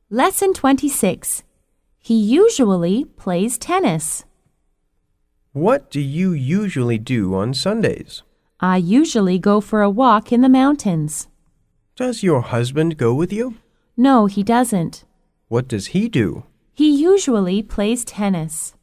Lesson 26. He usually plays tennis. What do you usually do on Sundays? I usually go for a walk in the mountains. Does your husband go with you? No, he doesn't. What does he do? He usually plays tennis.